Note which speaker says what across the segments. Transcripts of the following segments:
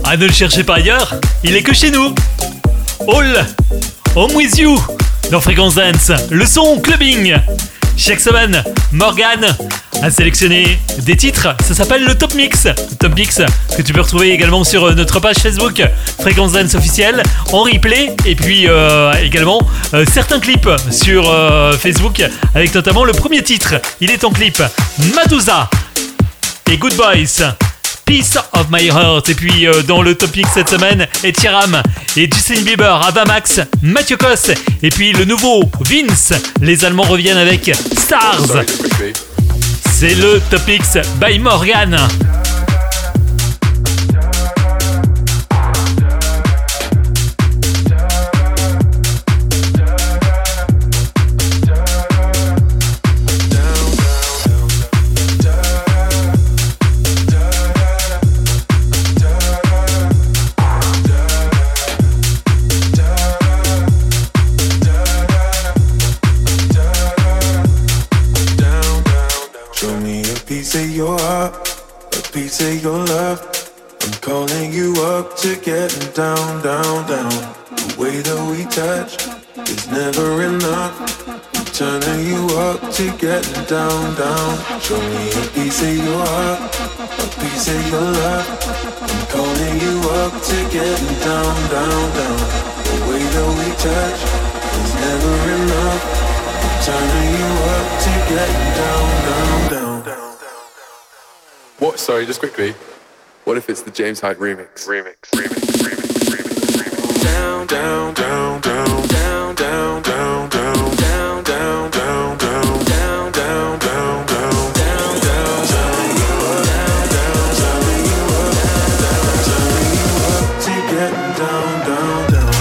Speaker 1: Ah, ne le cherchez pas ailleurs, il est que chez nous. All Home With You dans Fréquence Dance, le son clubbing. Chaque semaine, Morgane a sélectionné des titres, ça s'appelle le Top Mix. Le Top Mix que tu peux retrouver également sur notre page Facebook Fréquence Dance officielle en replay, et puis également certains clips sur Facebook avec notamment le premier titre. Il est en clip, Madusa et Good Boys, Piece of My Heart. Et puis dans le Top Mix cette semaine, Ed Sheeran et Justin Bieber, Avamax, Mathieu Cos, et puis le nouveau Vince. Les Allemands reviennent avec Stars. C'est le Top Mix by Morgane.
Speaker 2: Piece of your love, I'm calling you up to getting down, down, down. The way that we touch is never enough. I'm turning you up to getting down, down. Show me a piece of your heart, a piece of your love. I'm calling you up to getting down, down, down. The way that we touch is never enough. I'm turning you up to getting down, down, down, down.
Speaker 3: What? Sorry, just quickly. What if it's the James Hyde remix?
Speaker 2: Down, down, down, down, down, down, down, down, down, down, down, down, down, down, down, down, down, down, turning you up to getting down, down, down.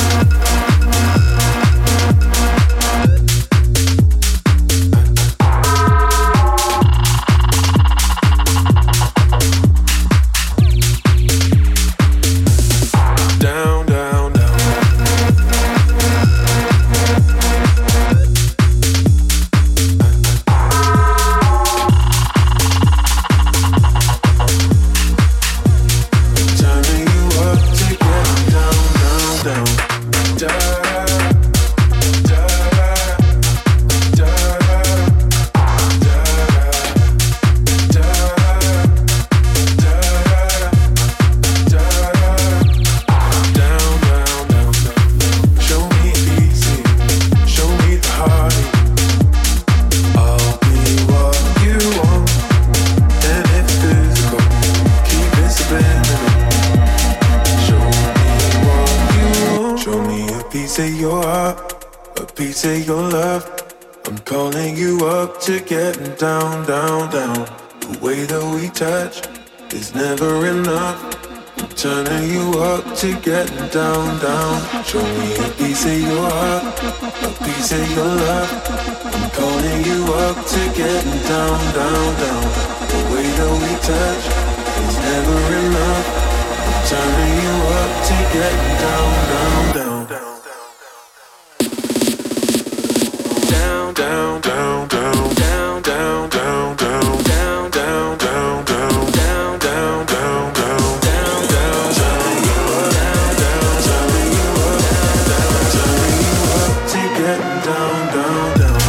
Speaker 2: Say your love, I'm calling you up to getting down, down, down. The way that we touch is never enough. I'm turning you up to getting down, down. Show me a piece of your heart, a piece of your love. I'm calling you up to getting down, down, down. The way that we touch is never enough. I'm turning you up to getting down, down, down, down. Down, down, down, down, down, down, down, down, down, down, down, down, down, down, down, down, down, turning you up, down, turning you up, turning you up to getting down, down, down.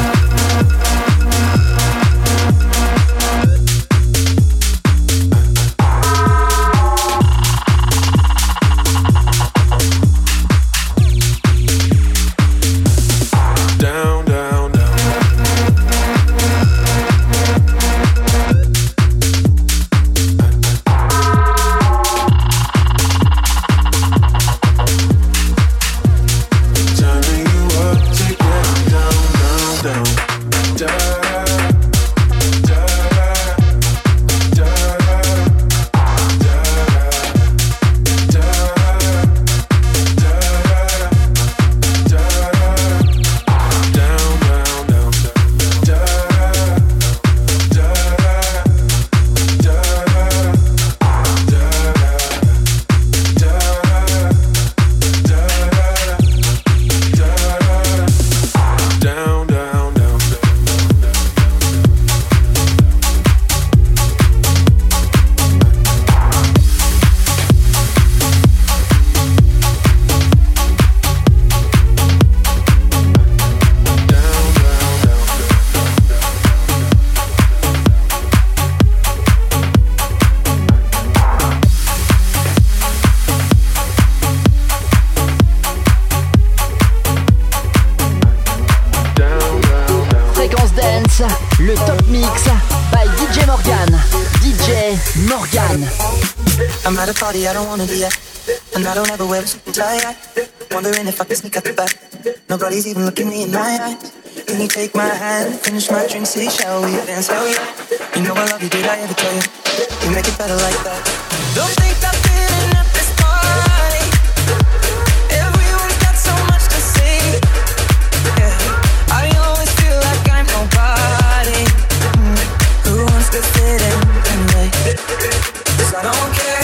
Speaker 4: Mix by DJ Morgan. DJ Morgan.
Speaker 5: I'm at a party I don't wanna be at, and I don't ever wear a suit and tie. Wondering if I can sneak out the back. Nobody's even looking me in my eyes. Can you take my hand, finish my drink, say shall we dance? Hell yeah. You know I love you, did I ever tell you? You make it better like that. Don't think I'm feeling at this party. Everyone's got so much to say. Yeah, I always feel like I'm nobody. Who wants to fit in anyway? 'Cause I don't care.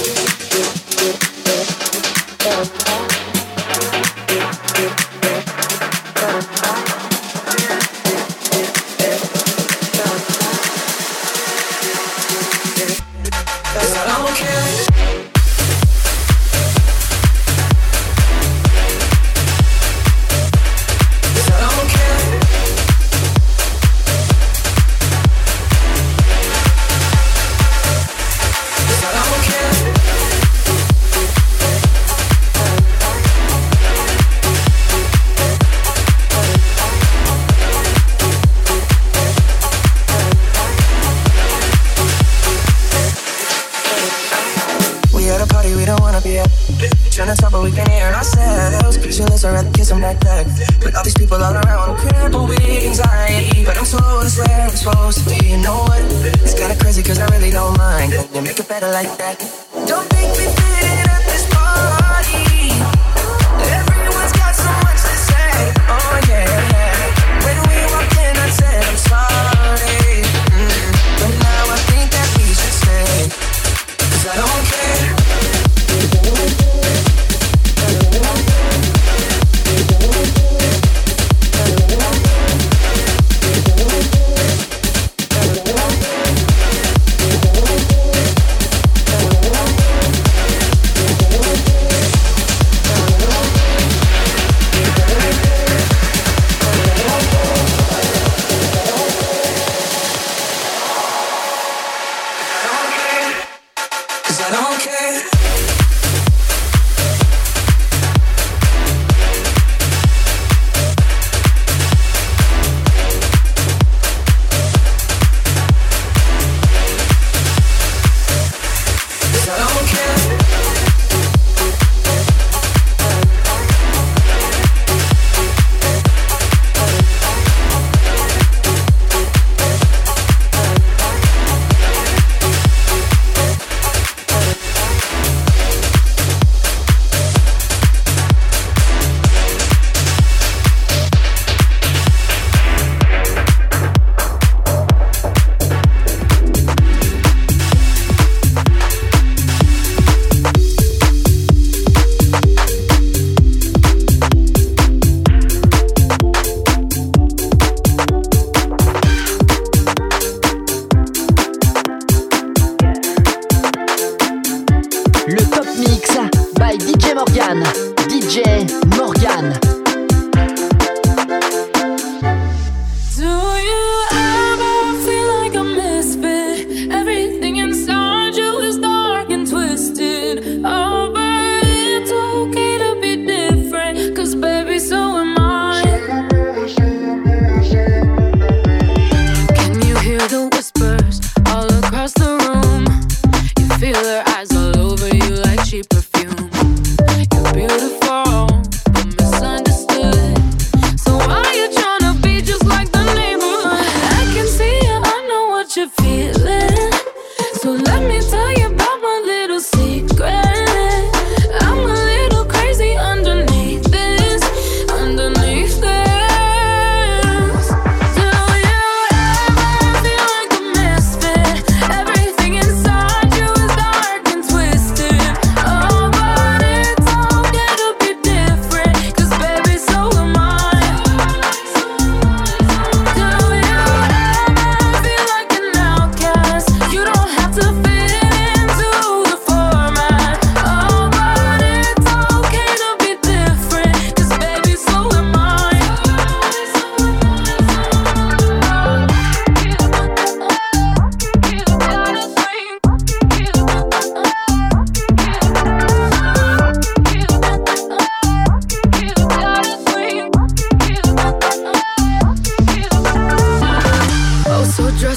Speaker 5: Trying to talk, but we can hear ourselves. Pictureless, I'd rather kiss them like that. With all these people all around, I'm crippled with anxiety. But I'm told it's where I'm supposed to be. You know what? It's kinda crazy, cause I really don't mind. Can you make it better like that? Don't make me fit in at this party. Everyone's got so much to say. Oh yeah, yeah. When we walked in, I said I'm sorry. But now I think that we should stay. 'Cause I don't care.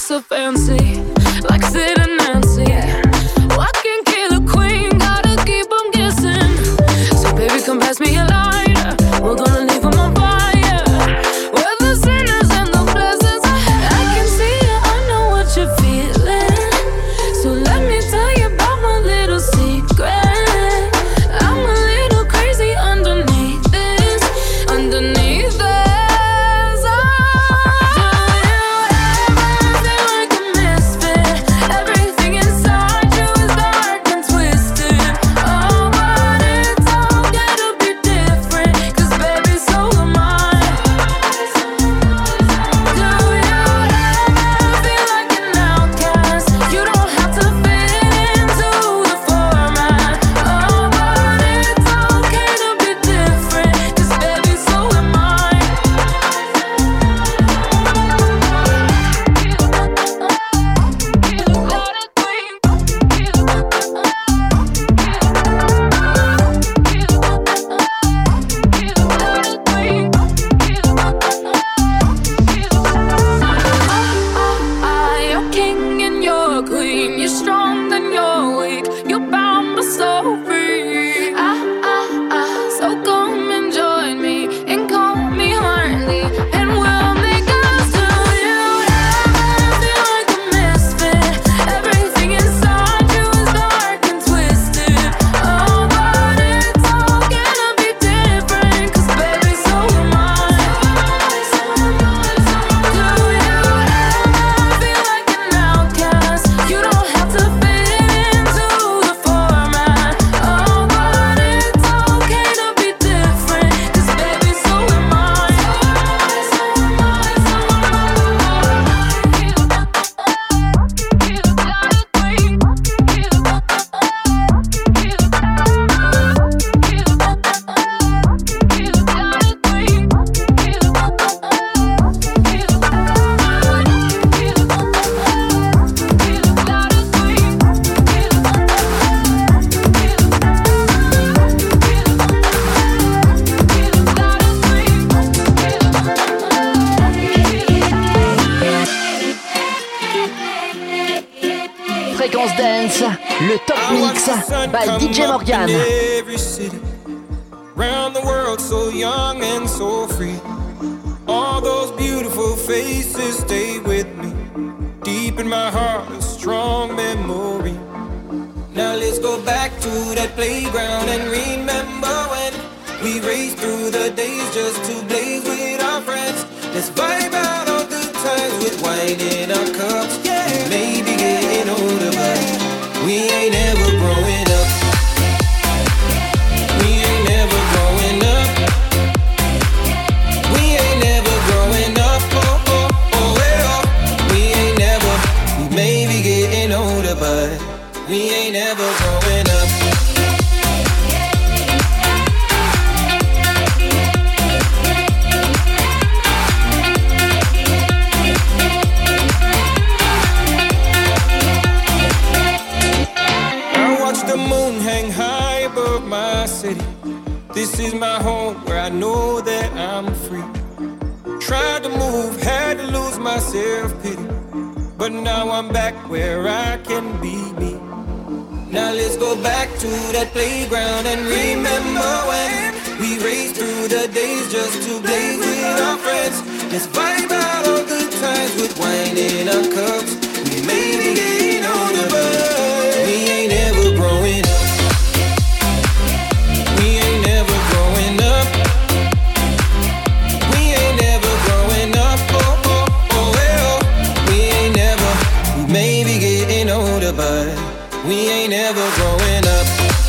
Speaker 6: so fancy, like Sid and Nancy. I can kill a queen, gotta keep 'em guessing. So baby, come pass me a lighter, we're gonna leave 'em on fire. We're the sinners and the blessings. I can see it, I know what you're feeling. So let me tell you about my little secret. I'm a little crazy underneath this, underneath this.
Speaker 4: Fréquence Dance, le top mix by DJ Morgan.
Speaker 7: Round the world, so young and so free. All those beautiful faces stay with me. Deep in my heart, a strong memory. Now let's go back to that playground and remember when we raced through the days just to blaze with our friends. Let's vibe out all good times with wine in our cups. Yeah, maybe getting older, but we ain't ever growing up. We ain't never growing up. We ain't never growing up. Oh, oh, oh, well. We ain't never. We may be getting older, but we ain't never growing up. This is my home where I know that I'm free. Tried to move, had to lose my self-pity, but now I'm back where I can be me. Now let's go back to that playground and remember when we raced through the days just to blaze with our friends. Let's vibe out all good times with wine in our cups. We may be getting older, but we ain't ever growing up. But we ain't ever growing up.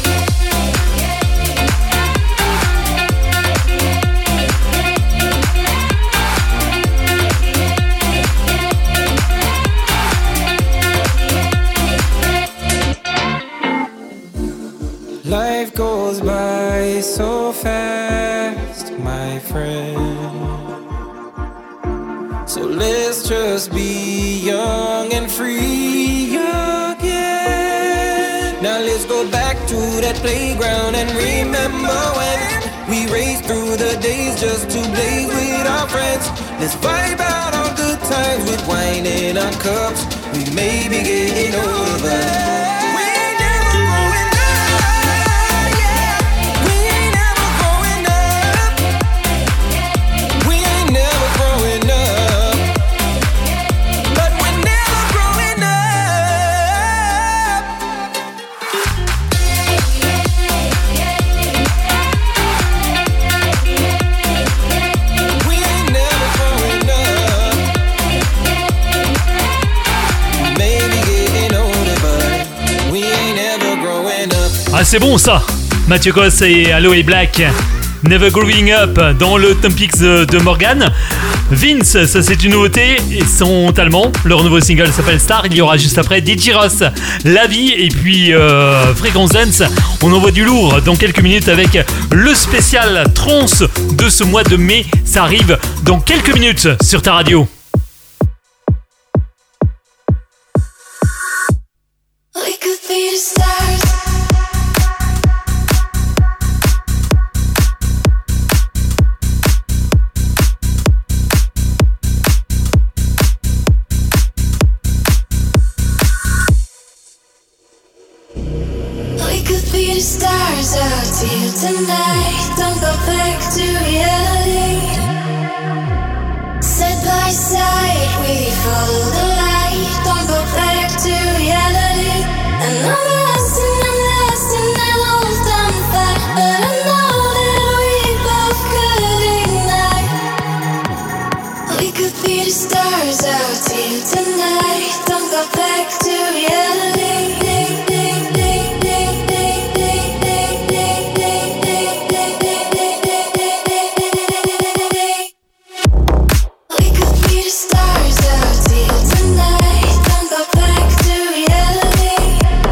Speaker 7: Life goes by so fast, my friend. So let's just be young and free again. Now let's go back to that playground and remember when we raced through the days just to blaze with our friends. Let's vibe out on good times with wine in our cups. We may be getting older, but we ain't never growing up. Yeah, we ain't never growing up. We ain't never growing up, but we're never growing up. We ain't never growing up. Maybe getting older, but we ain't never growing up.
Speaker 1: Ah, c'est bon ça. Mathieu Cos et Aloe Black, Never Growing Up dans le Top Mix de Morgan. Vince, ça c'est une nouveauté, ils sont allemands, leur nouveau single s'appelle Star, il y aura juste après DJ Ross, La Vie et puis Frequenz Dance. On envoie du lourd dans quelques minutes avec le spécial trance de ce mois de mai, ça arrive dans quelques minutes sur ta radio.
Speaker 6: We could be the stars. We could be the stars out here tonight. Don't go back to reality. Side by side, we follow the light. Don't go back to reality. And I'm lost in an old time fight, but I know that we both could ignite. We could be the stars out here tonight. Don't go back to reality. We could be the stars out here tonight. Don't go back to reality.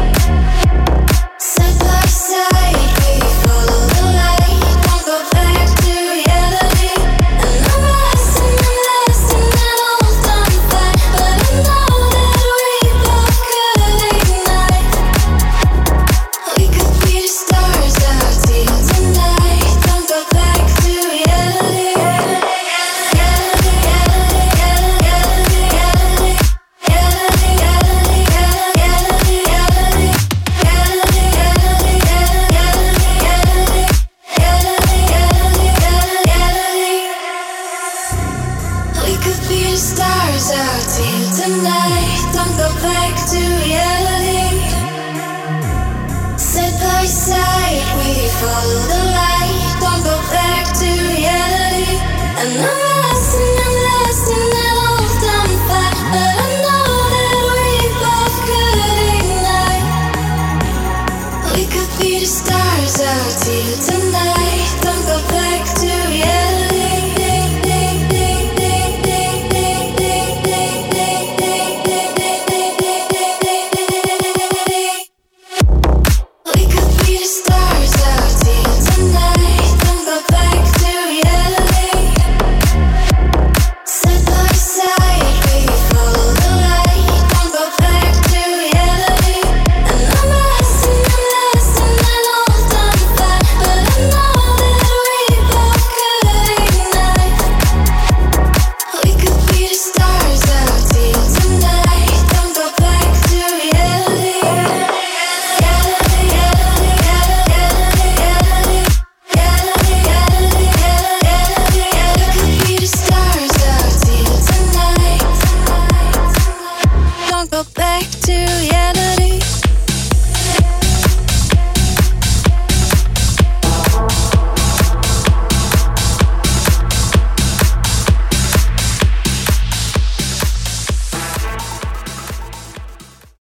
Speaker 6: Side by side, we follow the light. Don't go back to reality. And I'm lost in an old time fight, but I know that we both could ignite. We could be the stars out here tonight. Don't go back to reality. We could be the stars out here tonight. Don't go back to reality. Side by side, we follow the light. Don't go back to reality. And I'm